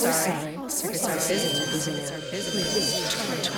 sorry. We're sorry. It's our business.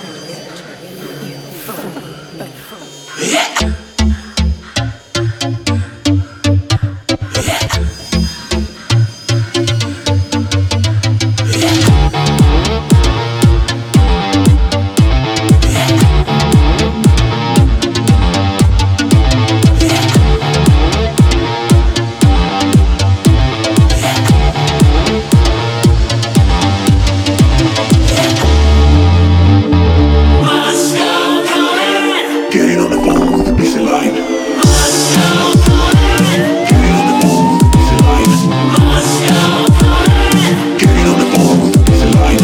Getting on the phone with a busy line. Getting on the phone with a busy line.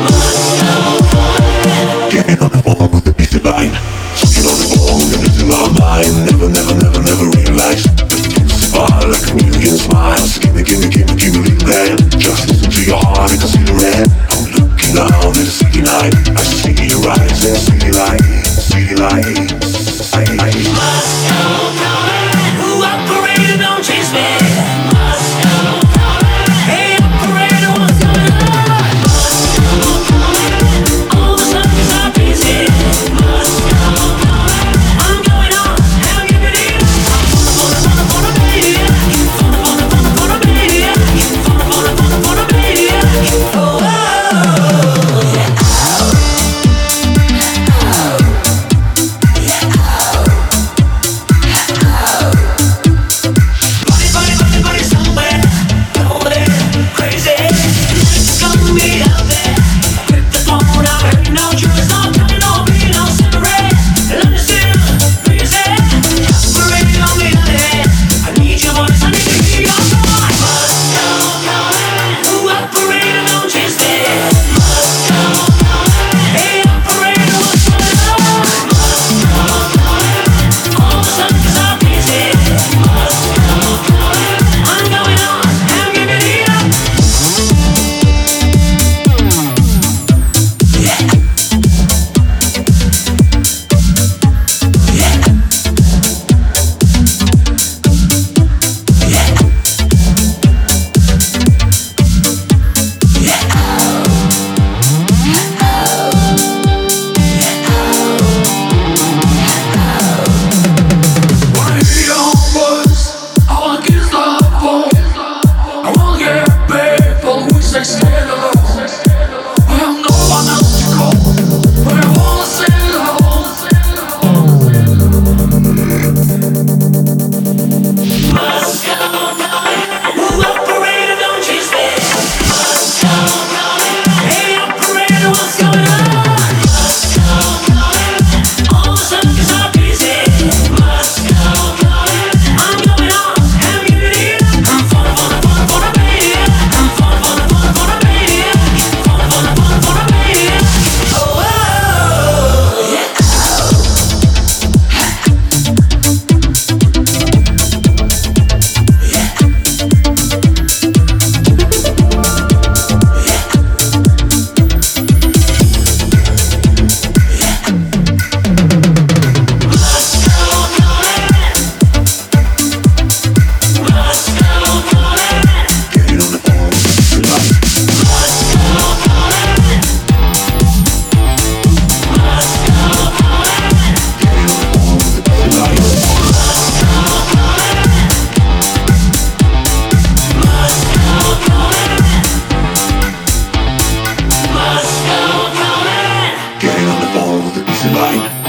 Getting on the phone with a busy line. Getting on the phone and it's in my mind. Never realize that the things far like a million smiles. Give me a little hand. Just listen to your heart and see the red. I'm looking out at the city night. I see your eyes and city lights. City lights. Who operated, don't chase me. Hey, operator, what's going on? All the suckers are busy. I'm going on, how you been? For a baby. For a baby. For a baby. Oh, Getting on the phone with a busy line.